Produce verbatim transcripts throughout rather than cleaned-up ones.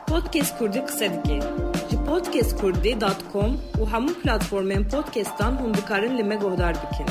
Podcast Kurdî qise dike. Ji podcast kurdî dot com û hemû platformên podcastan hûn dikarin li me guhdar bikin.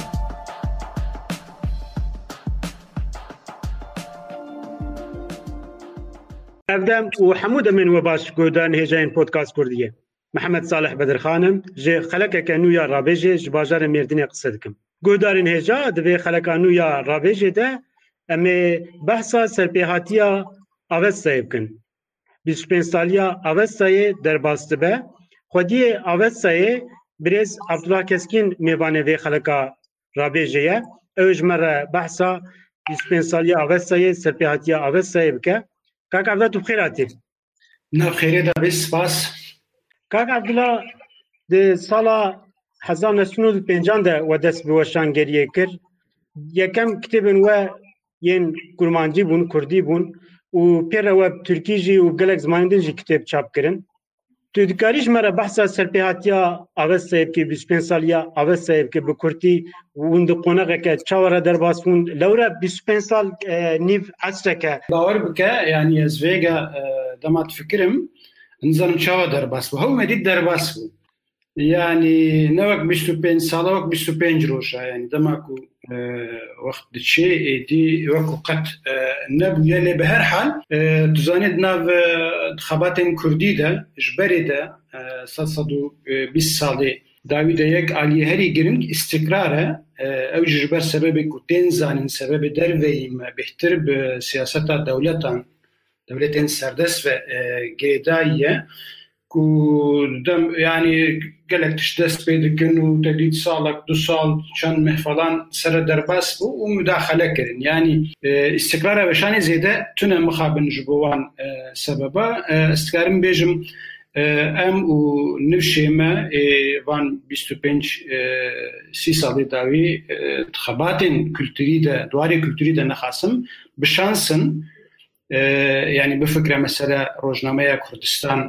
Evdem û hemû demên we baş guhdarin hêjayên podcast Kurdiyê. Mehmed Salih Bedirxanim ji xelekeke nû ya Rabêjê ji bajarê Mêrdînê qise dikim. Guhdarên hêja di vê xeleka nû ya Rabêjê de em ê behsa serpêhatiya Avestayê bikin. bîst û pênc saliya Avestayê derbas dibe. Xwediyê Avestayê Birêz Abdullah Keskin mêvanê vê xeleka Rabêjê ye. Ew ji me re behsa bîst û pênc saliya Avestayê serpêhatiya Avestayê bike. Kak Abdullah tu bixêr hatî. Nav xêrê da bê spas. Kak Abdullah di sala hezar nû sed û pêncan de we dest bi weşangeriyê kir. Yekem kitêbên we yên kurmancî bûn, Kurdî bûn û pêre we Tirkî jî û gelek zimanên din jî kitêb çap kirin. Tu dikarî ji me re behsa serpêhatiya Avestayê bikî, bîst û pênc saliya Avestayê bikî bi Kurdî hûn di qoneğeke çawa re derbas bûn. Lewre bîst û pênc sal nîv esreke. Bawer bike yanî ez vêga dema difikirim nizanim çawa derbas bû. Hewmê dît derbas bû. Yani ne wek bîst û pênc sala wek bîst û pênc roja yani dema ku wext diçe êdî wekû qet nebûye lê bi her hal tu zanî di nav xebatên Kurdî de ji berê de sed sed û bîst salê dawî de yek aliyê herî giring îstikrar e ew jî ji ber sebebê ku tên zanîn sebebê derveyî me bêhtir bi siyaseta dewletan devletên serdest ve girêdayî ye ku dem yani gelek tişt dest pê dikin û te dît salek du sal çend meh falan sere derbas bû û müdaxele kirin. Yani îstikrara weşanê zêde tune mixabin ji bo wan sebeba. Ez dikarim bêjim em û nivşê me van bîst û pênc sî salê dawî xebatên kültûrî de dwarê kültûrî de nexasim bişansin. Yani bifikre mesela Rojnameya Kurdistan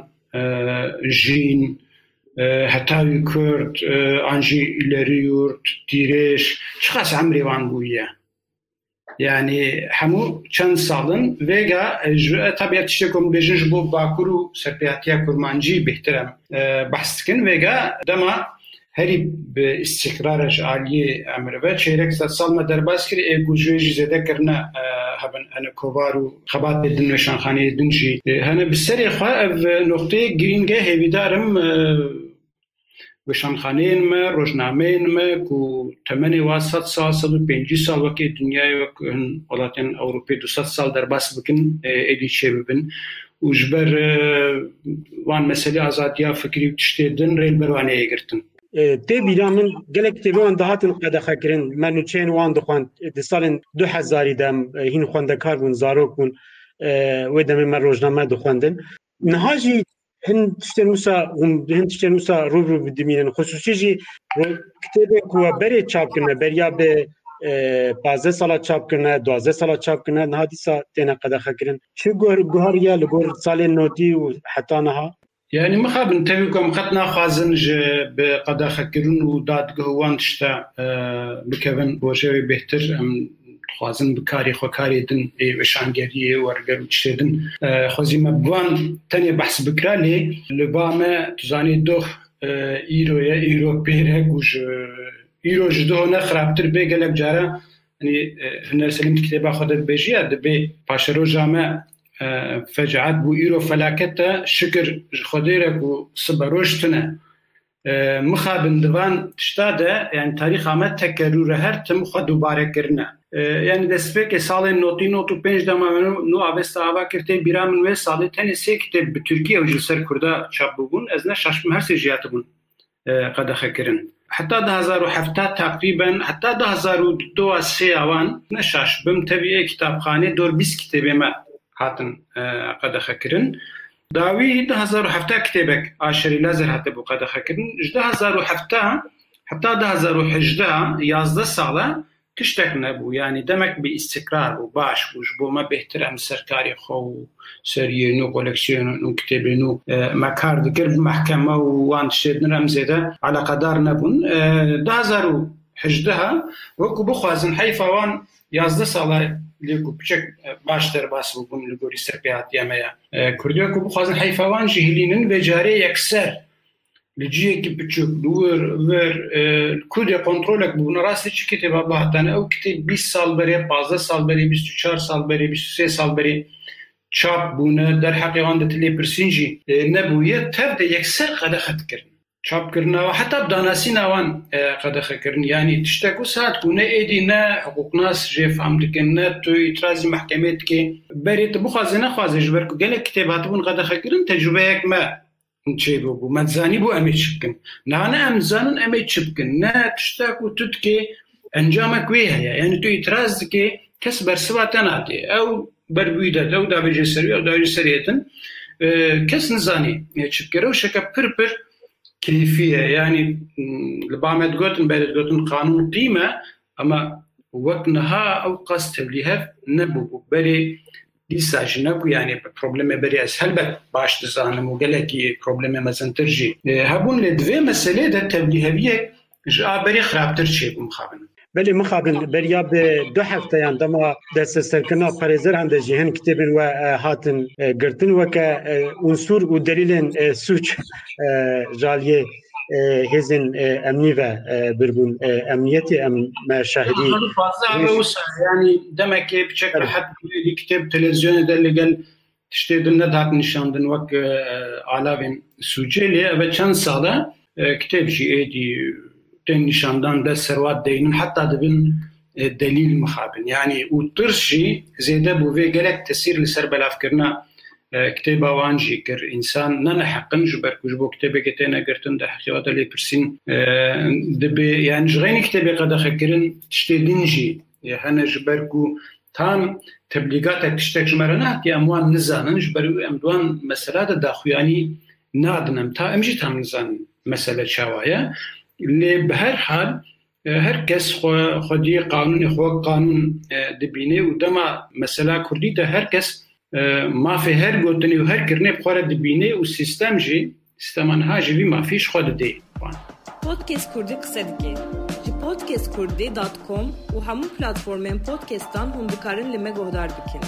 jîn hetawî Kurd an jî îlerî yurt dîrêj çiqas emrê wan bûye. Yani hemû çend salin vêga tabiat tiştek ku bêjin ji bo bakur û serpêhatiya kurmancî bêhtir em behs dikin vêga dema herî bi îstikrara ji aliyê em re çêrek sed sal me derbas kir ê ku ji wê jî zêde kirine hebin hene kovar û xebatê din weşanxaneyê din jî hene bi serê xwe ev noqteyê girîng e hêvîdarim weşanxaneyên me rojnameyên me ku temenê wa sed sal sed û pêncî sal wekî dinyayê wek hin welatên Ewropê du sed sal derbas bikin êdî çê bibin û ji ber wan meselê azadiya fikrî û tiştê din rêl ber wan ê girtin. Tê bîra min gelek kitêbê wan dihatin qedexekirin me nûçeyên wan dixwand di salên du hezarî de hîn xwendekar bûn zarok bûn wê demê me rojname dixwendin. Niha jî hin tiştên wisa hin tiştên wisa rûbirû bidimînin xusûsî jî kitêbê ku we berê çap kirine beriya bê panzdeh sala çap kirine duwazdeh sala çap kirine niha dîsa têne qedexekirin. Çi guhariya li gor salên notî û heta niha? Yani mixabin tevî ku em qet naxwazin ji bi qedexekirin û dadgeh wan tişta bikevin rojevê bêhtir em dixwazin bi karê xwe karê din ê weşangeriyê werger û tiştê din xwezî me bi wan tenê behs bikira lê li ba me tu zanî doh îro ye îro pêrek û ji îro ji doh ne xirabtir bê gelek care hani Huner Selîm kitêba xwe de dibêjiya dibê paşeroja me fecaat bû îro felaket te şikir ji Xwedê re ku sibe roj tune mixabin divan tişta de yani tarîxa me tekerrûre her tim xwe dubare kirine. Yani destpêkê salên notî not û pênc dema nû Avesta ava kir tê bîra min wê salê tenê sê kitêb bi Tirkî ew ji ser Kurda çap bûbûn ez ne şaşbim her sê jî hatibûn qedexekirin. Heta di hezar û hefta teqrîben heta di hezar û du sê wan ne şaşbim tevî ê kitapxanê dor bîst kitêbê me hatin qedexekirin. Dawî di hezar û hefta kitêbek Aşerî Lazer hatibû qedexekirin. Ji di hezar û hefta heta di hezar û hejdeh yazdeh sala tiştek nebû. Yani demek bir istikrar bû baş bû ji bo me bêhtir em serkarê xwe û seriyê nû koleksiyonên nû kitêbê nû me kar dikir bi mehkeme û wan tiştê din em zêde eleqedar nebûn. Di hezar û hejdeh wekû bixwazin heyfa wan yazdeh sala لێکو پچێک باش دەرباس بوون لە گۆری سەرپێهاتیەمەیە کوردیەکو بخوازن حیفاوان ژهلینن بێجارێ یەکسەر لە جیەکی بچووک دوور ور کودێ کۆنترۆلێک بوون ڕاستی چ کتێبا بەهاتانە ئەو کتێب بیست ساڵ بەرێ پازدە ساڵ بەرێ بیست و چوار ساڵ بەرێ بیست و سێ ساڵ بەرێ چاپ بوونە دەرحەقیوان دەت لێ پرسینجی نەبوویە تەردە یەکسەر قەدەخەتکردن چاپکردنەوە حتا بداناسی ناوان قەدەخەکردن یعنی تشتێک و سات بوونە ئێدی نە حقوقناس ژێفام دکن نە توی ئیترازی محکەمێت دکێ بەرێتە بخوازێ نەخوازێ ژبەر و گەلێک کتێب هاتبوون قەدەخەکردن تەجروبەیەک مە چێ بۆ بوو مەتزانی بۆ ئەمێ چ بکەن نانە ئەمزانن ئەمێ چ بکەن نە تشتێک و تو دکێ ئەنجامە کوێ هەیە یعنی تو ئیتراز دکێ کەس بەرسەواتە ناتێ ئەو بەربووی دەد ئەو دابێژێ سەروی ئەو داوێژێ سەرێتن کەس نزانی چ بکەرە و شەکە پرپر كيفية يعني لبعض قوتن بعد قوتن قانون قيمة أما وقتها أو قصد تبليها نبو بري لسه نبو يعني problem بري أسهل بس باش تزانم وقالكي problem مثلا ترجي هبون لدوي مسألة ده تبليها بيه جاء بري خراب ترشي بمخابن بله مخابن بریا به دو هفته یاندما دست سرکنا پرزر هند جهان کتابن و هاتن گرتن و که عنصر و دلیل سوچ جالیه هزن امنی و بربون امنیتی ام شاهدی يعني دمك بشكل حد الكتاب تلفزيون ده اللي قال تشتيدن ندهت نشاندن وك علاوين سوجيلي ابا چند ساله كتاب جي ايدي تن نشاندان ده سروات دينن حتى دبن دليل مخابن يعني وترشي زيده بو في قالك تسير لسر بلافكرنا كتابه وانجي كر انسان نن حقن جبر كجبو كتابه كتينا قرتن ده حقيقه لي برسين دبي يعني جغين كتابه قد خكرن تشتيدنجي يعني جبركو تام تبلیغات تشتک جمرنات یا اموان نزانن جبر امدوان مساله داخو يعني نادنم تا امجي تام نزان مساله شوايه اللي بهر حال هر کس خودی قانون خو قانون دبینه و دما مساله کردی ده هر کس ما في هر گوتنی و هر کرنه بخوره دبینه و سیستم جی سیستمان ها جی ما فيش خود دی پودکست کردی قصه دیگه جی پودکست کردی دات کام و همون پلتفرمن پودکستان هم بکارن لمه گهدار بکن.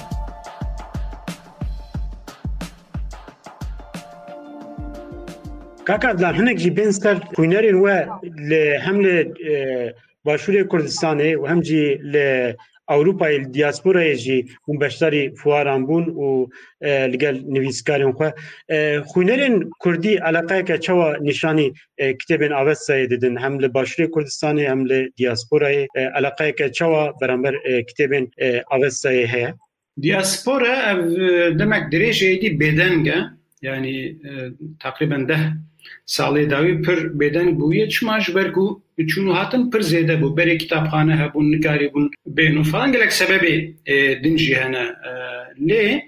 کاکا دلار هنگ جی بین سر خوینرین و لحمل باشور کردستانه و هم جی لأوروپای دیاسپورای جی اون بشتری فواران بون و لگل نویسکارین خو خوینرین کردی علاقه که چوا نشانی کتابین آوستای دیدن هم لباشور کردستانه هم لدیاسپورای علاقه که چوا برانبر کتابین آوستای هیا دیاسپورا demek derece دی بدنگه yani تقریبا ده سالی داوی پر بدن بویه چماش برگو چونو هاتن پر زیده بو بری کتابخانه هبون نکاری بون بینو فلان گلک سببی دنجی هنه لی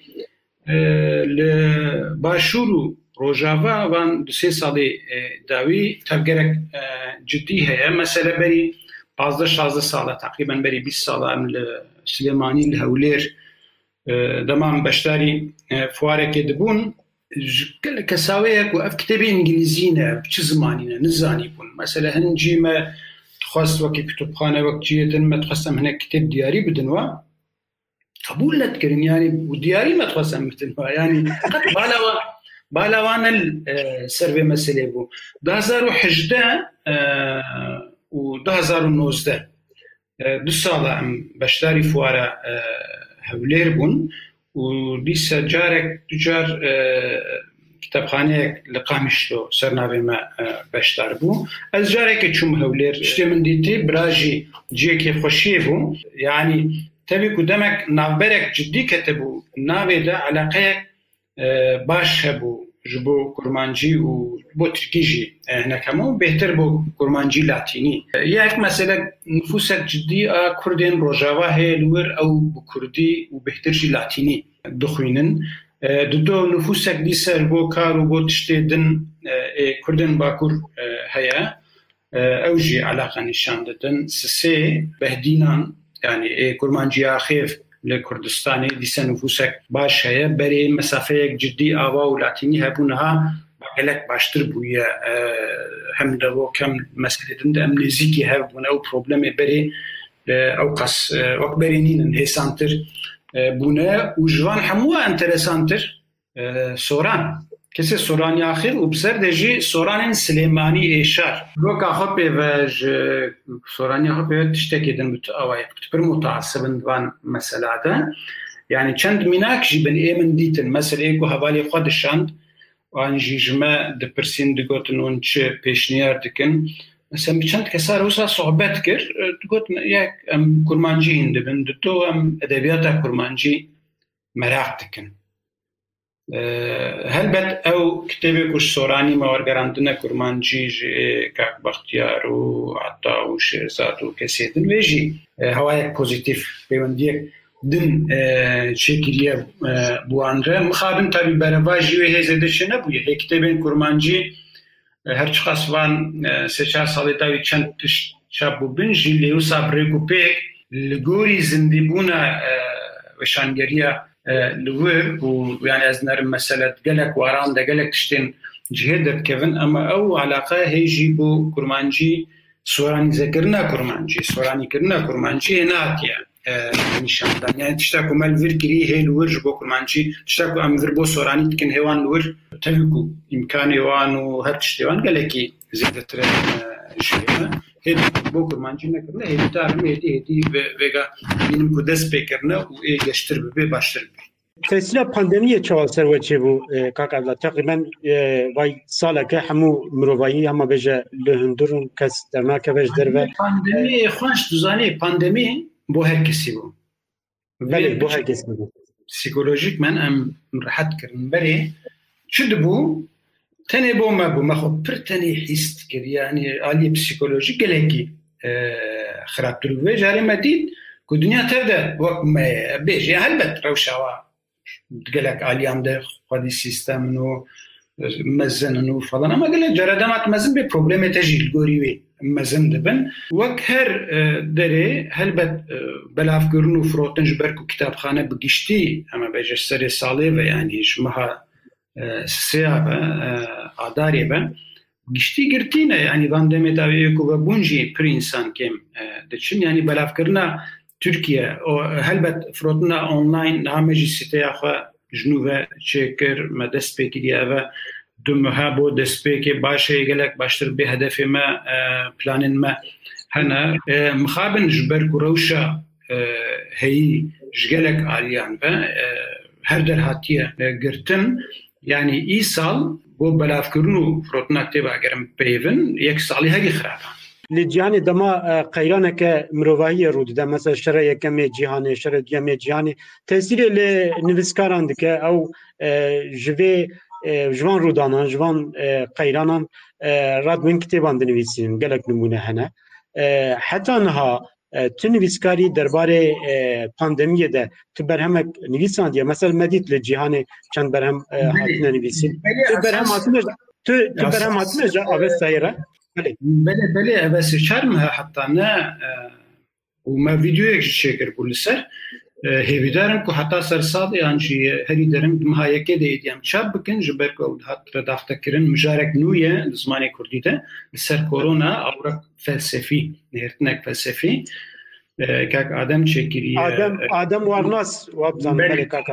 باشورو روژاوا وان دو سه سالی داوی تبگرک جدی هیا مثلا بری پازده شازده ساله تقریبا بری بیست ساله ام سلیمانی الهولیر دمان بشتاری فواره که دبون كساويك وأف كتابي إنجليزينا بش زمانينا نزاني بون مثلا هنجي ما تخص وكي كتبخانة وكجية ما تخصم هنا كتاب دياري بدنوا قبول لا تكرن يعني ودياري ما تخصم بدنوا يعني بالاوا بالاوانا السيرفي مسألة بو ده هزار وحجدة وده هزار ونوزدة دو سالة بشتاري فوارة هولير بون وليس جارك تجار كتابخانه لقامشتو سرناوي ما باشتار بو از جارك تشوم هولير شتي من ديتي براجي جيكي خوشيبو يعني تبي قدامك نابرك جدي كتبو نابي ده علاقه باش هبو جبو كرمانجي وبو تركيجي هنا كمان بهتر بو كرمانجي لاتيني ياك مثلا نفوسك جدي كردين روجاوا هي لور او بكردي وبهترجي لاتيني دخوينن دو نفوسك دي سر بو كار وبو تشتيدن كردن باكور هيا اوجي علاقه نشان ددن سسي بهدينان يعني كرمانجي اخيف لكردستاني دي سنفوسك باش هيا بري مسافه جدي آوا ولاتيني هبونها بقلك باشتر بويا هم دو كم مسألة دند أم نزيكي هبون أو بروبلم بري او قص وقت برينين هيسانتر بونا وجوان حموه انترسانتر سوران كسي سوران ياخر وبسر دجي سوران سليماني إيشار لوكا خبي فاج سوران ياخر تشتكي دن بتأوي بتبر متعصبن دوان مسألة يعني چند مناك جيبن ايمن ديتن مثل ايكو حوالي خود شاند وان جيجما دبرسين دقوتن ونچ پیشنیار دکن مثلا چند کسار وسا صحبت کر دقوت یک ام کرمانجی هندبن دتو ام ادبیات کرمانجی مراق دکن هل بد او كتابي كوش سوراني ما ورقراندنا كرمانجي كاك بختيار وعطا وشيرزاد وكسيدن ويجي هوايك بوزيتيف بيونديك دن شكلية بوانره مخابن تابي برواجي وهيزة دشنا بوية هي كتابين كرمانجي هرچ خاصوان سيشار صاليتاوي چند شابو بنجي ليو صابريكو بيك لغوري زندبونا وشانگريا لور ويعني از نرم مسألة قلق واران دا قلق تشتين جهدت كيفن أما أو علاقة هيجي بو كرمانجي سوراني ذكرنا كرمانجي سوراني كرنا كرمانجي هناك نشان دان يعني تشتاكو مال فيركري هي لور جبو كرمانجي تشتاكو أم فيربو سوراني تكن هيوان لور تفكو إمكان هيوان وهر تشتيوان قلقي زيادة ترين جهدنا هيد بو كرمانجي نكرنا هيد تارم هيدي هيدي ويغا بينم كودس بيكرنا وإيه يشتر ببي باشتر ببي تأثير بانديمية چوال سر وچه بو كاك عبدالله تقريبا واي سالك همو مروفايي هما بيجا لهندرون كس درناك بيج دربه بانديمية خوانش دوزاني بانديمية بو هر كسي بو بله بو هر كسي بو psikolojik من ام راحت كرن بري شد بو تاني بو ما بو ما خو برتاني حيست كر يعني آلي psikolojik geleki خرابتر و جاري مديد كو دنيا تبدا وقت ما بيجي هلبت روشاوا تقلك آليام ده خدي سيستم نو مزن نو فلان اما قال جردامات مزن بي بروبلم تجي الغوري مزن دبن وقت هر دري هلبت بلاف كرنو فروتنج بركو كتابخانه بقشتي اما بيجي سري صالي يعني شمها سيابه اداري به گشتی گرتینه یعنی باندمه داویه کو بونجی پر انسان کم دچن یعنی بلاف کرنا ترکیه او هلبت فروتنا آنلاین نامجی سیته اخو جنوبه چکر مدست بکیدی اوا دمها بو دست بکی باشه گلک باشتر به هدف ما پلان ما هنا مخابن جبر کروشا هی جگلک آلیان و هر در هاتیه گرتن يعني إيصال بو بلافكرنو فروتنا كتابة أجرم بيفن يكسالي هاي خرابة. لجياني دما قيرانك مروفاهية رود ده مثلا شرع يكمي جهاني شرع يكمي جهاني تأثير لنفسكاران دك أو جوي جوان رودانا جوان قيرانا راد من كتابان دنويسين قالك نمونه هنا حتى أنها تنویسکاری درباره پاندمیه ده تو برهم نویسان دیگه مثلا مدید لجیهان چند برهم هاتنه نویسین تو برهم هاتنه تو تو برهم هاتنه جا آوه سایره بله بله بله آوه سیچارمها حتی نه و ما ویدیو یک شکر بولی سر هیوی دارم که حتی سر ساده یعنی هری دارم دمها یکی دیدیم چاب بکن جبر که هات رداخته کرن مجارک نویه زمانی کردی ده سر کرونا اوراق فلسفی نهرتنک فلسفی کاک آدم چکری آدم آدم وارناس وابزان بله کاک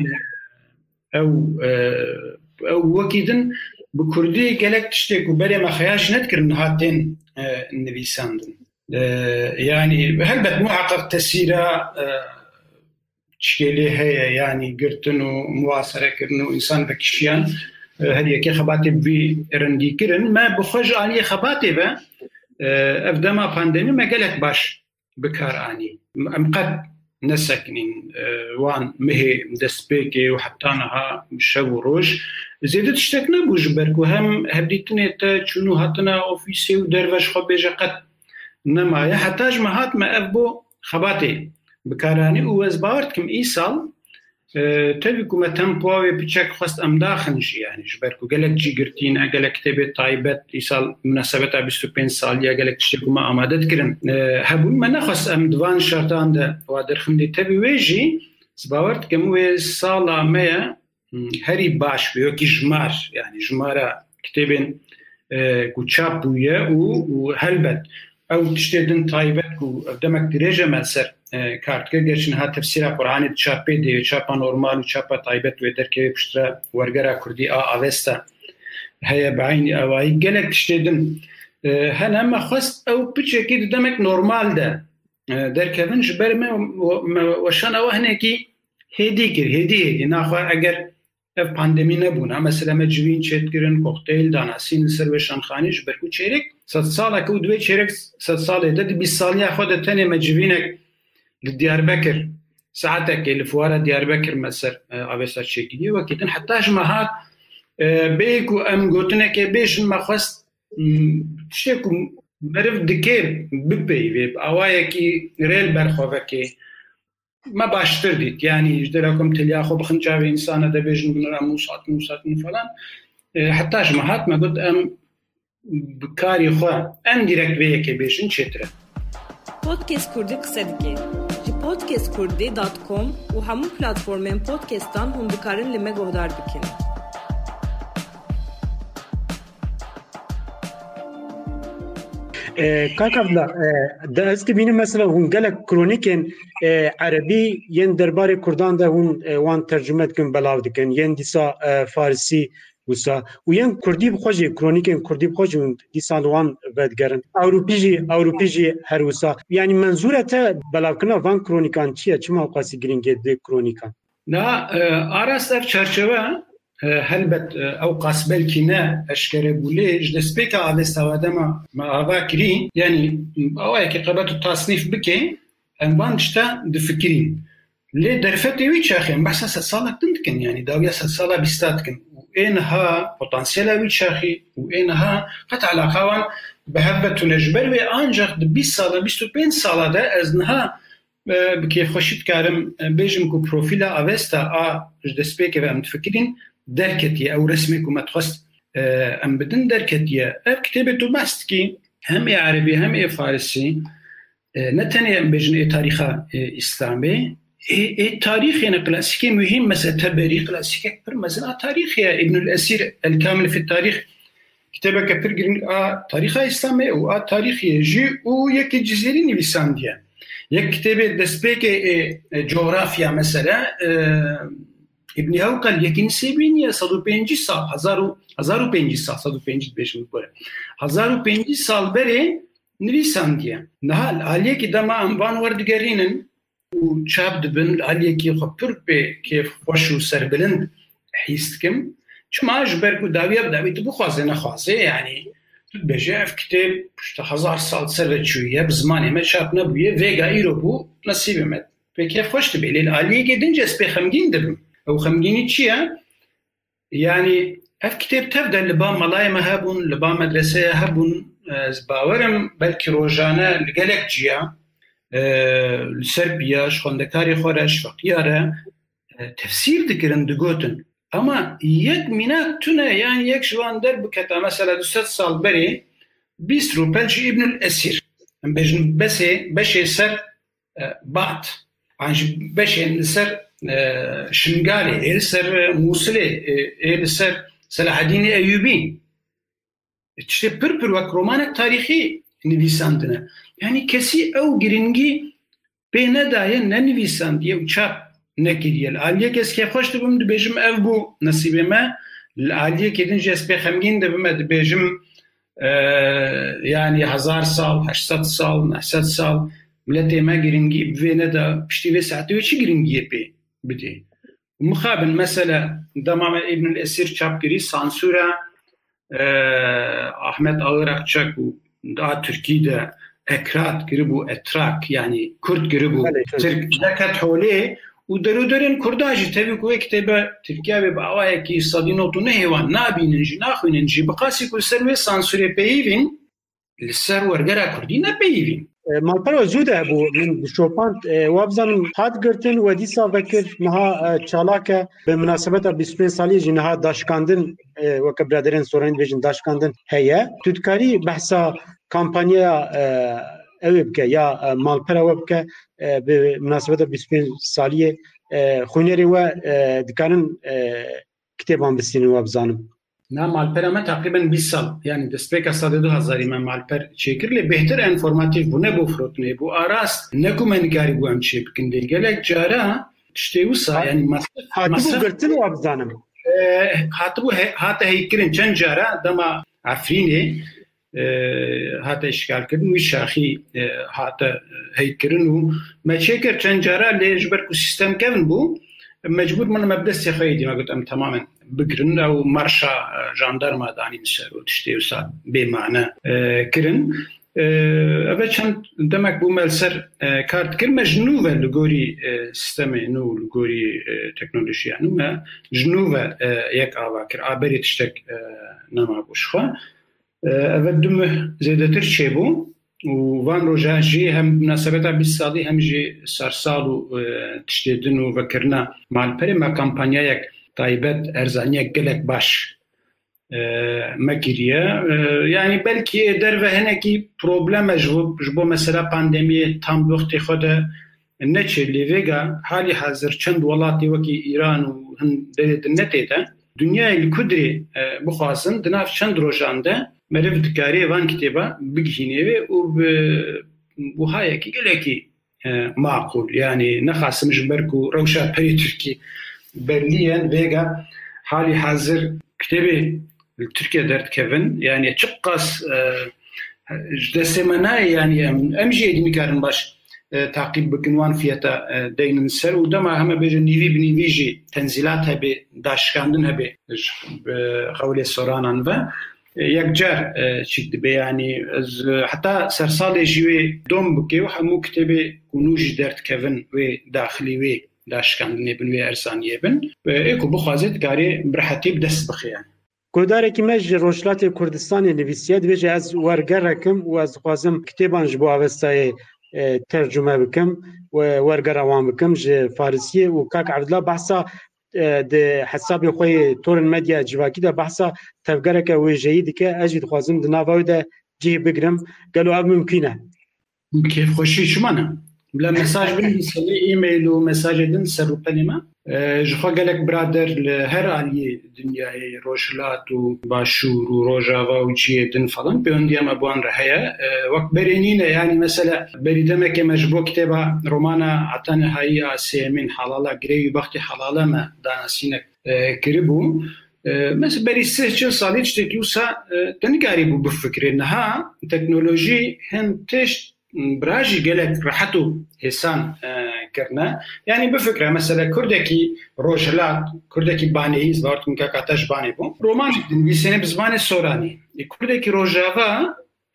او او وکیدن بکردی گلک تشتیک و بله مخیاش ندکرن هاتین نویساندن يعني هلبت محقق تسيرة تشكيلي هي يعني قرتنو مواصرة كرنو إنسان بكشيان هذه كي خباتي بي رندي كرن ما بخرج عليه خباتي با أفدما بانديمي ما قالك باش بكار آني أم قد نسكنين وان مهي دسبيكي وحطانها شو روج زيادة تشتكنا بوجبرك وهم هبديتني تا چونو هاتنا أوفيسي ودروش خب بيجا قد نما يا حتاج ما هات ما أفبو خباتي بكاراني ووزبارت كم إيصال أه تبيكو ما تنبوي بيشك خواست أم داخنش يعني جبركو قالك جي قرتين أقالك كتابة طايبات إيصال مناسبتها بستو بين سالية قالك تشتكو ما أمادت كرن أه هبون ما نخواست أم دوان شرطان ده وادرخم دي تبي ويجي زبارت كم وي سالة مية هري باش بيوكي جمار يعني جمارة كتابين أه كو تشابوية وهلبت أو تشتدن طايبات ku demek dirêje me ser kartgir geçin ha tefsîra Qur'anê çapê de çapa normal û çapa taybet wê derkevê piştre wergera Kurdî a avesta heye beynî awayî gelek tiştê din hene me xwest ew piçekî demek normal de derkevin ji ber me weşan ew hinekî hêdî kir hêdî hêdî naxwe eger ev pandemî nebûna mesela me civîn çêtkirin kokteyl danasîn li ser weşanxanî ji ber ku çêrek sed saleke û divê çêrek sed salê de di bîst saliya xwe de tenê me civînek li Diyarbekir saetekê li fuara Diyarbekir me ser avesta çêkiliyê wekî din heta ji me hat bêyî ku em gotinekê bêjin me xwest tiştê ku meriv dikê bipeyvê awayekî rêl berxwevekê ما baştır dit yani ji derakom teliya xwe bixin çavê insana de bêjin binira musat musat falan heta ji me hat me got em bi karî xwe em direkt vê yekê bêjin çêtir e. Podcast Kurdî qise dike ji podcast kurdî dot com û hemû platformên podcastan hûn dikarin li me guhdar bikin. Kakavla da ez dibînim mesela hûn gelek kronîkên erebî yên derbarê Kurdan de hûn wan tercüme dikin belav dikin yên dîsa Farsî wisa û yên Kurdî bi xwe jî kronîkên Kurdî bi xwe jî hûn dîsan wan vedigerin Ewropî jî Ewropî jî her wisa yanî menzûre te belavkirina van kronîkan çi ye çima qasî giringê di kronîkan na arast ev çerçeve helbet ew qas belkî ne eşkere bûlê ji destpêka avesta dema me ava kirî yanî awayekî qebet û tasnîf bike em van tişta difikirîn lê derfetê wî çaxên behsa sed salek din dikin yanî dawiya sed sala bîsta dikin û ê niha potansiyela wî çaxî û ê niha qet eleqa wan bi hev vetûne ji ber wê ancak di bîst sala bîst û pênc sala de ez niha bi kêfxweşî dikarim bêjim ku profîla avesta a ji destpêkê ve em difikirîn derketiye ew resmê ku me dixwest em bidin derketiye ev kitêbê tu behs dikî hem ê erebî hem ê farsî ne tenê em bêjin ê tarîxa îslamê ê tarîxên klasîkê mühîm mesela Teberî klasîkek pir mezin a tarîx ye İbnül Esîr El Kamil fi Tarîx kitêbeke pir giring a tarîxa îslamê û a tarîxê jî û yekê cizêrî nivîsandiye yek kitêbê destpêkê coğrafya mesela İbn Hawqal yekîn sêbîniye sed û pêncî sal hezar û pêncî sal sed û pêncî bêjim bikore hezar û pêncî sal berê nivîsandiye niha aliyekî dema em van werdigerînin û çap dibin aliyekî xwe pir pê kêfxweş û serbilind hîs dikim çima ji ber ku dawiya bi dawî tu bixwaze nexwaze yanî tu dibêje ev kitêb pişta hezar sal ser ve çûye bi zimanê me çap nebûye vêga îro bû nesîbê me pê kêfxweş dibe lê li aliyekê din ez pê xemgîn dibim ew xemgînî çi ye yanî ev kitêb tev de li ba malayê me hebûn li ba medreseye hebûn ez bawerim belkî rojane li gelek ciya li ser piya ji xwendekarê xwe re ji feqîya re tefsîr dikirin digotin ama yek mînak tune yani yek ji wan derbiketa mesela du sed sal berê bîst rûpel ji İbnül Esîr em bêjin besê beşê ser bat an ji beşên li ser Şingalê ê li ser Musilê ê li ser Selaheddînê Eyyûbî tiştê pir pir wek romanek tarîxî nivîsandine yanî kesî ew giringî pê nedaye nenivîsandiye û çap nekiriye li aliyek ez kêfxweş dibim dibêjim ev bû nesîbê me li aliyekê din jî ez pê xemgîn dibim me dibêjim yanî hezar sal heşt sed sal neh sed sal milletê me giringî bi vê neda piştî vê saetê wê çi giringiyê pê bidê mixabin mesela dema me İbnül Esîr çap kirî sansûra Ahmet Ağırakçak û da Tirkî de ekrat kiribû etrak yani Kurd kiribû Tirk deket holê û derûderên Kurda jî tevî ku wê kitêbe Tirkiye wê bi awayekî sedî not û nehêwan nabînin jî naxwînin jî bi qasî ku li ser wê sansûrê peyivîn li ser wergera Kurdî nepeyivîn malpera zû de hebû min şopand wabzanim hat girtin we dîsa vekir niha çalake bi münasebeta bîst û pênc saliyê jî niha daşkandin weke biraderên soranî dibêjin daşkandin heye tu dikarî behsa kampanyaya ew bike ya malpera we bike bi münasebeta bîst û pênc saliyê xwînerên we dikarin kitêban bistînin we bizanim نه مالپر ما تقریبا بیست سال یعنی دستپیک سال دو هزاری من مالپر چیکر لی بهتر انفورماتیو بونه بو فروتنه بو آراست نکو من کاری بو ام چی بکنده گلک جارا تشتیوسا یعنی مصرف هاتبو گرتن و ابزانم هاتبو هات هیکرین چند جارا دما عفرینه هات اشکال کردن و شاخی هات هیکرین و ما چیکر چند جارا لی جبر کو سیستم کردن بو مجبور من مبدأ خیلی ما گفتم تماما بگرن او مارشا جاندارما دانی مسر و تشتیوسا بیمانه کرن اوه چند دمک بو ملسر کارت کرد ما جنوبه لگوری سیستم نو لگوری تکنولوژی نو ما جنوبه یک آوا کرد آبری تشتک نما بوشخوا اوه دمه زیده تر چه بو و وان روزا جی هم مناسبتا بیست سالی هم جی سرسالو تشتیدن و وکرنا مالپری ما کمپانیا یک تایبت ارزانی گلک باش مگیریه یعنی بلکی در وهنکی پروبلم جبو جبو مثلا پاندمی تام وقتی خود نچه لیوگا حالی حاضر چند ولاتی وکی ایران و هند دلیت نتیده دنیای کدری بخواسن دناف چند روزانده مرف دکاری وان کتابا بگهینه و و هایی که گلکی معقول یعنی نخواستم جبرکو روشا پری ترکی برلین ویگا حالی حاضر کتابی ترکیه درد کردن یعنی چقاس دسته منای یعنی امجی ادمی کردن باش تعقیب بکنوان فیتا دینن سر و دما همه بیجن نیوی بنیویجی تنزیلات هبی داشکاندن هبی قولی سورانان و یک جار چیک دبی یعنی حتی سرسال جیوی دوم بکی و همو کتابی کنوش درد کردن و داخلی وی داشکاندنی بن و ارسانیه بن ایکو بخوازید کاری برحتی بدست بخیان گودارێکی مەژ ڕۆژهەڵاتی کوردستانی نویسیە دەبێت ئەس وەرگەڕێکم و ئەس خوازم کتێبانش بۆ ئاوەستایە تەرجمە بکەم و وەرگەڕەوان بکەم ژ فارسیە و کاک عەبدوڵڵا بەحسا حسابی خۆی تۆرن مەدیا جیواکیدا بەحسا تەفگەرێکە وێژەیی دکە ئەژی دخوازم دناڤاویدا جێ بگرم گەلو ئەو ممکینە کێفخۆشی چمانە بلا مساج بنویسن ایمیل و مساج دن سر و پنیما جخوا گلک برادر لهر عالی دنیای روشلات و باشور و روجاوا و جیه دن فلان بیوندی هم ابوان رهیا وقت برینینه یعنی مثلا بریدمه که مجبور کتبا رومانا عطان هایی آسیمین حلالا گریوی بختی حلالا ما دانسینه کربو مثلا بری سه چل سالی چتکی وسا تنگاری بو بفکره نها تکنولوژی هم تشت براجي قالك راحتو هسان كرنا يعني بفكرة مثلا كردكي روجلات كردكي باني زبارت من كاكاتاش باني بو رومان بيسنة بزباني سوراني كردكي روجاغا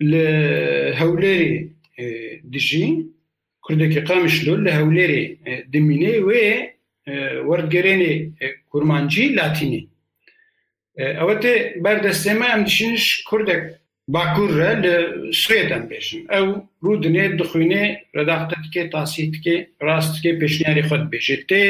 لهوليري دجي كردكي قامشلو لهوليري دميني و وردگريني كورمانجي لاتيني اوتي بردستما ام دشينش كردك باکور را لسویدان بیشن او رودنه دخوینه رداخت که تاسیت که راست که پیشنیاری خود بیشه تی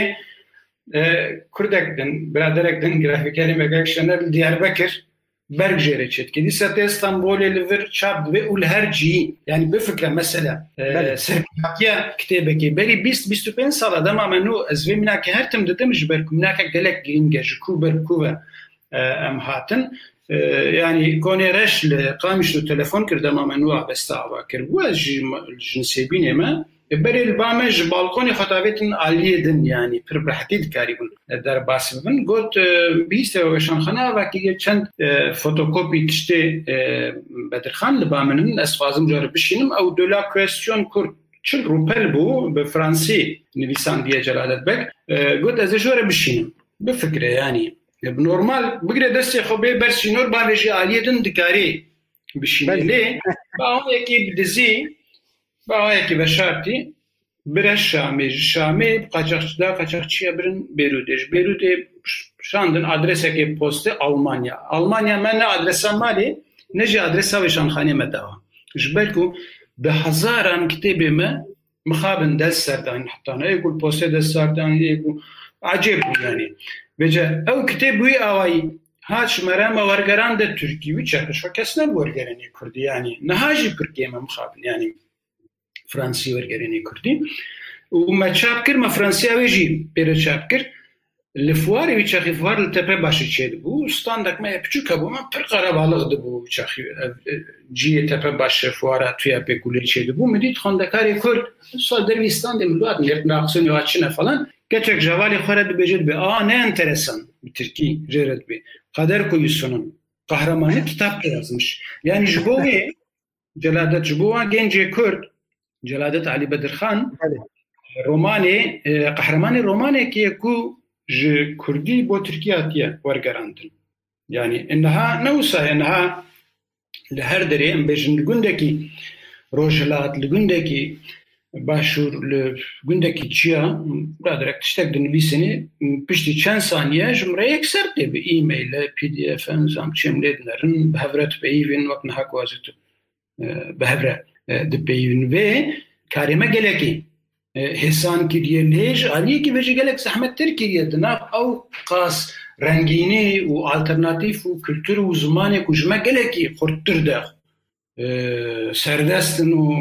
کردک دن برادرک دن گرافیکاری مگاکشنر دیاربکر برگ جره چید که دیسا تی استانبول لور چاب دوی اول هر جی یعنی بفکره مثلا سرکاتیا کتابه که بری بیست بیست و پین سال آدم منو از وی منا که هر تم دادمش برکو منا که گلک گرینگه جکو برکو ام هاتن يعني كوني رش لقامش له تليفون كردم ممنوع بستعوا كربوا جنسيبين ما بري البامج بالكوني خطابتن عاليه دن يعني بربحتيد كاريبن در باسبن قلت بيست وشان خنا وكي چند فوتوكوبي تشتي بدرخان لبامن اسفازم جرب بشينم او دولا كويستيون كور چل روبل بو بفرنسي نويسان دي جلالت بك قلت از جرب بشينم بفكره يعني بنورمال بقدر دستي خوبي برسينور باوجي عالية دكاري بشيني ليه باهم يكي بدزي باهم يكي بشارتي برش شامي شامي قاچاقچıda قاچاقçıya برن بيروتش بيروتي شاندن adrese ki poste Almanya Almanya men adresa mali نجي adresa وشانخانه مدوا جبلكو بهزاران كتابه مخابن دسردان حتى انا يقول poste دسردان يقول عجيب يعني بجا او كتابوي اوي هاش مرام ورگران ده تركي وي چاكش كسنا ورگراني كردي يعني نهاجي تركي ما مخابن يعني فرنسي ورگراني كردي وما چاپ كر ما فرنسي اويجي بير چاپ كر لفواری وی چخی فوار لتپه باشی چید بو ستاندک ما پچوکا بو من پر قرابالغ دبو چخی جی تپه باشه فوارا توی پکوله چید بو مدید خواندکاری کرد سال در ویستان ملوات نرد ناقصون یواتشنه فلان گچک جوالی خورد بجید به آه نه انترسان bir Türkiye جرد به قدر کویسونن قهرمانی kitap yazmış. Yani jbovi Celadet jbova gence Kurd Celadet Ali Bedirxan romanı kahramanı romanı ki ku ج Kurdi bo Türkiye atiye wargarandın. Yani enha newsa enha لهر دری ام بجن گندکی روجلات لگندکی باشور لگندکی چیا برادرک تشتک دنویسنی پشتی چند ثانیه جمره یک سرد به ایمیل پی دی اف انزام چملید نرن به هفرت به ایوین وقت نها کوازیتو به هفرت به ایوین و کارمه گلکی حسان کریه لیج آلیه کی وجه گلک زحمت تر کریه دناف او قاس رنگینی و آلترناتیف و کلتور و زمانی کجمه گلکی خورتر ده سردستن و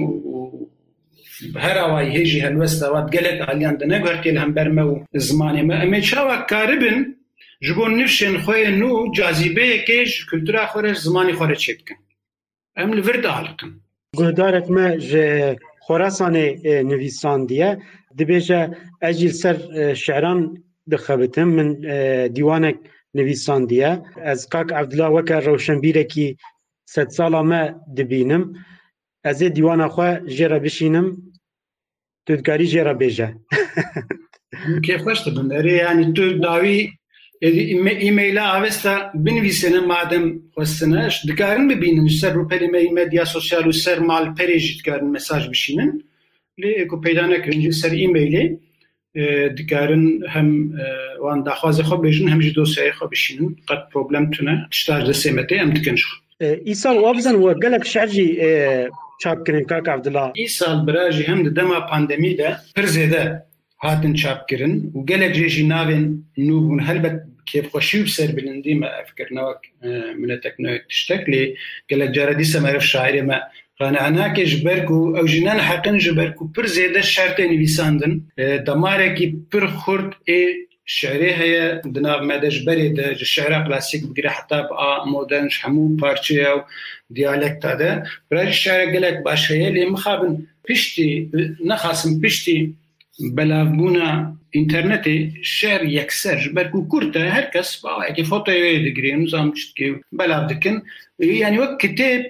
هر آوای هیجی هلوست آواد گلک آلیان ده نگوهرکیل هم برمه و زمانی ما امی چاوه کاربن جبون نفشن خوی نو جاذبه کش کلتور خورش زمانی خوره چید کن ام لورد آلکن گهدارت ما جه خراسان نویسان دیه دبیجه اجیل سر شعران دخبتم من دیوانک نویسان دیه از کاک عبدالله وکر روشنبیره کی ست سالا ما دبینم از دیوان خواه جیره بشینم تودگاری جیره بیجه کیف خوشت بنداری یعنی تو داوی ایمیلا آوستا بنویسنه مادم خواستنش دکارن ببینن سر رو پلی مدیا سوسیال و سر مال پریجی دکارن مساج بشینن لی اکو پیدا نکرنجی سر ایمیلی دکارن هم وان داخوازه خواب بیجن هم جی دوسیای خواب بشینن قد پروبلم تونه تشتاج دسیمته هم دکنش ای سال وابزن و گلک شعرجی چاپ کرن کاک عبدالله ای سال براجی هم دما پاندمی ده پر زیده هاتن چاپ کرن و گلک جیجی ناوین نوبون هلبت كيف خوشيو بسر بلندي ما أفكر نوك من تكنوك تشتكلي قالك جاردي سمعرف شاعري ما قانعناك جبركو أو جنان حقن جبركو پر زيادة شرطة نويساندن دماركي پر خورد اي شعري هيا دناغ مادا جبري دا الشعر كلاسيك بقري حتى بقى مودرن شحمو بارچي أو ديالكتا دا براج الشعر قالك باش هيا لي مخابن بشتي نخاسم بشتي بلافبونا اینترنتی شعر یکسر برکو کرده هر کس با اگه فوتوی دگری نظام چتکی بلاف دکن یعنی وقت کتاب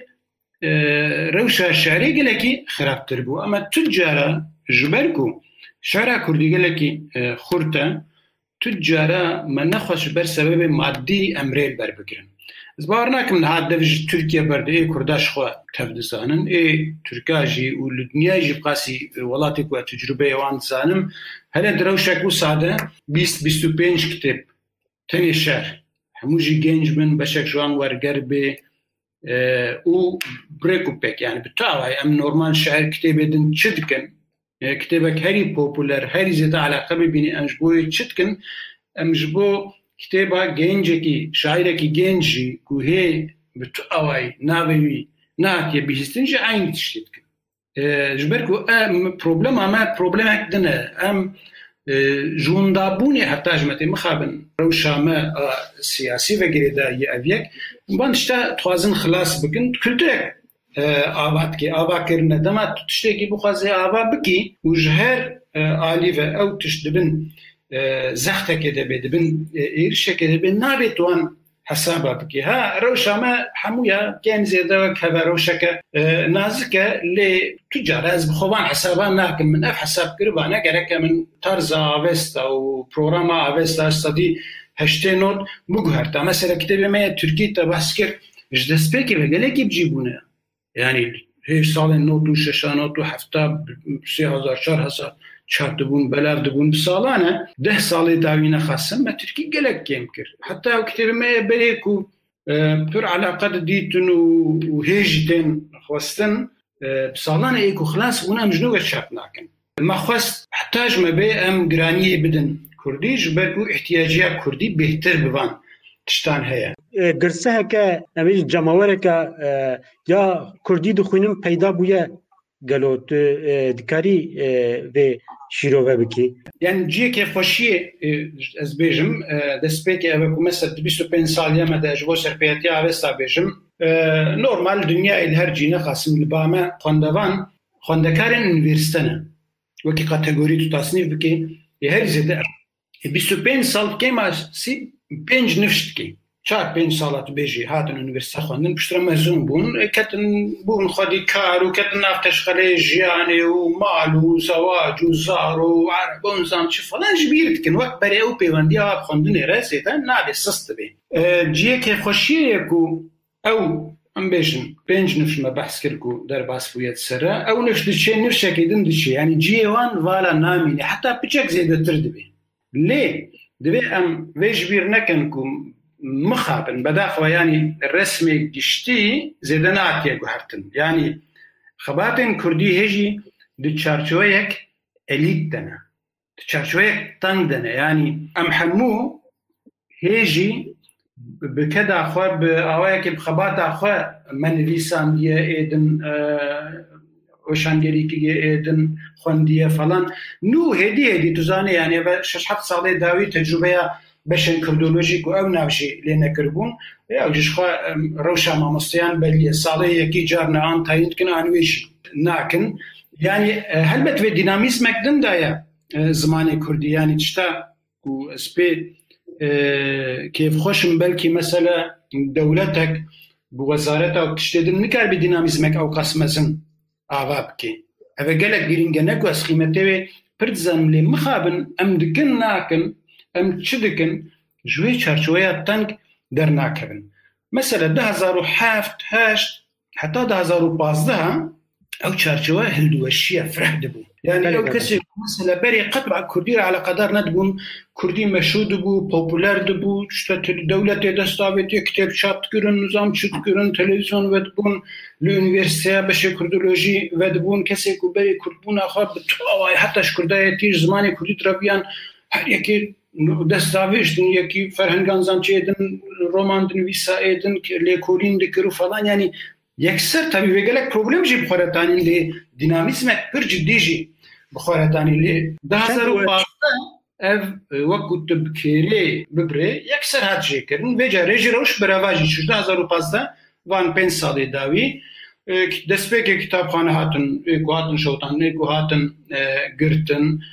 روشا شعری گلکی خرابتر بو اما تجارا جبرکو شعر کردی گلکی خورده تجارا من نخواش بر سبب مادی امریل بر بگیرن زبار نکم هاد دوج ترکیه برده ای کرداش خواه تفدزانن ای ترکاجی و لدنیاجی بقاسی ولاتی که تجربه وان زانم هلا دروشك وساده بیست بیست و پنج كتاب تاني شهر هموجي جنج من بشك جوان ورقربي اه و بريكو بيك يعني بالتالي ام نورمال شعر كتاب دن تشدكن اه كتابك هاري بوبولار هاري زيادة علاقة بيني انجبوي تشدكن ام جبو كتابا جنجكي شاعركي جنجي كوهي بالتالي نابوي ناتي بيستنجي عين تشدكن جبركو ام بروبلم اما بروبلمك دنا ام جوندابوني حتى جمتي مخابن روشا ما سياسي وغيره يأبيك بانشتا توازن خلاص بكن كلتك آباد كي آبا كرنا دما تشتكي بخوازي آبا بكي وجهر آليفة او تشتبن زختك دبي دبن إيرشك دبن نابتوان حسابا بكي ها روشا ما حمويا كان زيادة كهبا روشك نازكة اللي تجار از بخوان حسابا ناكم من اف حساب كربانا كركا من طرز آفستا و بروغرام آفستا استادي هشتي نوت مقهرتا مثلا كتابي ما تركي تبحث كر جدس بيكي بقالكي بجيبونا يعني هيش سالين نوتو ششا نوتو حفتا سي هزار شار هزار چهار دبون بلاف دبون بسالانه ده سالی داوینه خاصم ما ترکی گلک کم کر حتی او کتاب ما بریکو پر علاقه دیتن و هیجتن خواستن بسالانه ایکو خلاص بونا مجنوغه چاپ ناکن ما خواست حتاج ما بی ام گرانیه بدن کردی جبرکو احتیاجیه کردی بهتر بوان تشتان هيا قرصها كا أميل جماورة كا يا كردي دخونم پیدا بويا گلوت دکاری و شیروه بکی یعنی جیه که خوشی از بیجم دست که اوه که مثلا بیست و پنج سالیه مده اجبو سرپیتی آوستا بیجم نورمال دنیا الهر جینه خاصم لبامه خوندوان خوندکارن انویرستانه وکی کاتگوری تو تصنیف بکی یه هر زیده بیست و پنج سال که ما سی پنج نفشت کی چهار پنج سالات بیجی هاتن انویرسیته خوندن پشتر مزون بون کتن بون خودی کار و کتن نفتش خلی جیانه و مال و زواج و زار و عربون زن چه فلان جبیرت کن وقت برای او پیوندی آب خوندن رسیده نابی سست بی جیه که خوشیه کو او ام بیشن پنج نفش ما بحث کرد در باس بویت سره او نفش دچه نفشه که دن دچه یعنی جیه وان والا نامینه حتی بچک زیده تر دبی لی دبی ام ویش بیر نکن کو مخابن بداخل يعني الرسمي جشتي زيدنا كي غهرتن يعني خباتن كردي هجي دي تشارچويك اليتنا تشارچويك تندنا يعني ام حمو هجي بكذا خو باوايك بخبات خو من لسان دي ايدن وشانجري كي ايدن خونديه فلان نو هدي هدي تزاني يعني شش حط صالي داوي تجربه بشن كردولوژیک و او ناوشی لینه کربون یا وجش خو روشا مامستیان بلی ساله یکی جارنا آن تایید کن آنویش ناکن یعنی هلبت و دینامیسم اکدن دایا زمان کردی یعنی تشتا و اسپی کیف خوشم بلکی مثلا دولتك بوزارتها وتشتدن نكار بديناميزمك او قسمزن آوابكي اذا قالك جرينجنك واسخيمتوي پرتزن لي مخابن ام دكن ناكن ام تشدكن جوي چارچويا تنك در ناكبن مثلا ده هزار و هفت هشت حتى ده هزار و پازده او چارچويا هلدوشيه فرح دبو يعني لو كسي مثلا بري قطع كردي على قدر ندبون كردي مشهود بو بوبولار دبو شتات دولة دستاويت كتاب شات كرن نظام شت كرن تلفزيون ودبون لونيفرسيتي باش كردولوجي ودبون كسي كو بري كردبون اخر حتى كردايه تيج زماني كردي تربيان هر يكي دستاويش دن يكي فرهنگان زانچيدن رومان دن ويسايدن ليكولين دكرو فلان يعني یکسر tabii ve gelek problem jî bixweretanîn lê dinamîsmek pir ciddî jî bixweretanî lê di hezar û panzdeh ev wekû tu bikêrê bibirê yekser hat jêkirin vê carê ji rewş bireva jî çû di hezar û panzdeh van pênc salê dawî destpêkê kitapxane hatin êku hatin şewtan êku hatin girtin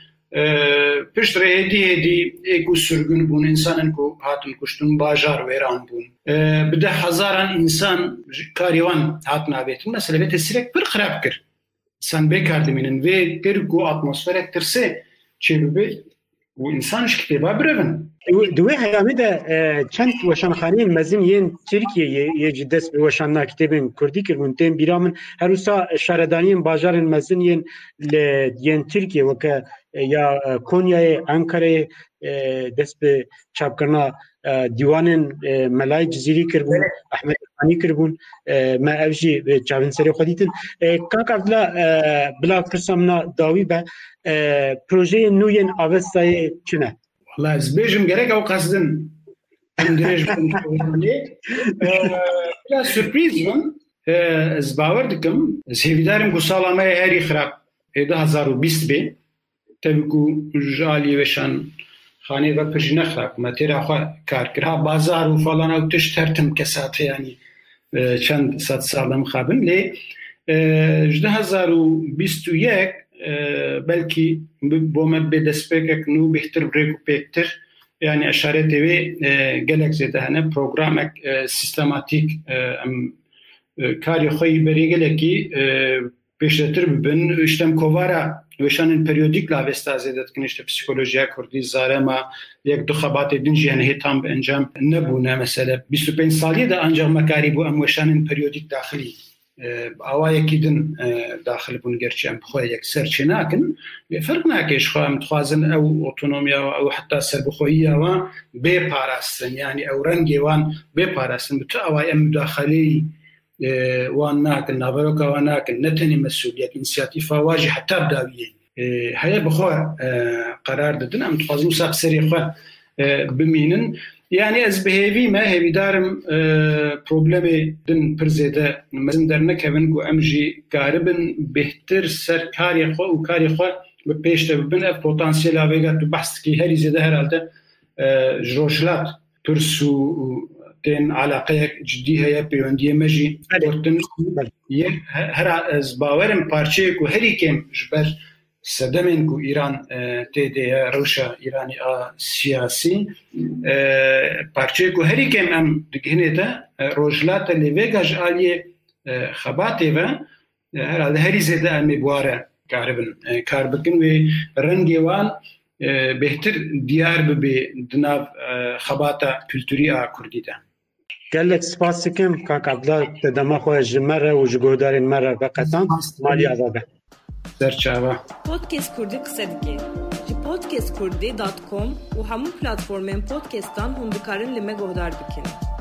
pişt re hêdî hêdî êku sürgün bûn insanên ku hatin kuştin bajar wêran bûn bi de hezaran insan karî wan hatin avêtin mesela vê tesîrek pir xirab kir insan bêkar dimînin vê kir ku atmosferek tirsê çêbibe û insan ji kitêba birevin di wê heyamê de çend weşanxaneyên mezin yên Tirkiyeyê yê jî dest bi weşana kitêbên Kurdî kirbûn tên bîra min her wisa şaredaniyên bajarên mezin yên li yên Tirkiye weke ya Konya'ya, Ankara'ya dest bi çapkirina dîwanên Melayê Cizîrî kirbûn, Ahmed Xanî kirbûn, me ev jî çavên serê xwe dîtin. Kaka bila bila pirsa min dawî be projeyên nû yên avestayê çi ne? Vallahi ez bêjim gerek ew qesdin em dirêj lê bila sürprîz bin ez bawer dikim ez hêvîdarim ku sala me herî xirab ê du hezar û bîst bê tabii ku ji alî weşan xanê ve pir jî nexirab me têra xwe kar kir ha bazar û falan ew tişt tertim kesate yanî çend sed sal em xabin lê ji du hezar û bîst û yek belki bo me bê destpêkek nû bêhtir birêk û pêktir yani eşaretê wê gelek zêde hene programek sîstematîk em karê xwe yî berê gelekî pêşretir bibin işte em kovara weşanên periyodîk la vesta zêde dikin işte psîkolojiya Kurdî zarema yek du xebatê din jî hene tam bi encam nebûne mesela bîst û pênc salî de ancak me karî bû em weşanên periyodîk daxilî awayekî din daxil bûn gerçi em xwe yekser çê nakin lê ferq nake ji xwe em dixwazin ew otonomiya ew heta serbixweyiya wan bê parastin yani ew rengê wan bê parastin bi tu awayê em müdaxeleyî wan nakin naberoka wan nakin ne tenê mesuliyet înisiyatîfa wan jî heta bidawiyê heye bi xwe qerar didin em dixwazin wisa bi serê xwe bimînin Yani ez bihêvî me hêvîdarim problemê din pir zêde mezin dernekevin ku em jî karibin bêhtir ser karê xwe û karê xwe bi pêş de bibin. Ev potansiyela vêga tu behs dikî herî zêde herhalde ji rojhilat pirs û tên alaqeyek ciddî heye peywendiyê me jî gotin her ez bawerim parçeyek û herî kêm ji ber sedemên ku Îran tê de ye rewşa Îranî a siyasî parçeyek ku herî kêm em digihînê de rojhilata lêvêga ji aliyê xebatê ve herhalde herî zêde em ê buware karibin kar bikin wê rengê wan bêhtir diyar bibe di nav xebata kültûrî a Kurdî de. Gelek spas dikim Kak Abdullah te dema xwe ji me re û ji guhdarên me re veqetan maliya ve be. Serçava. Podcast Kurdî qise dike. Ji podcast kurdî dot com û hemû platformên podcastan hûn dikarin li me guhdar bikin.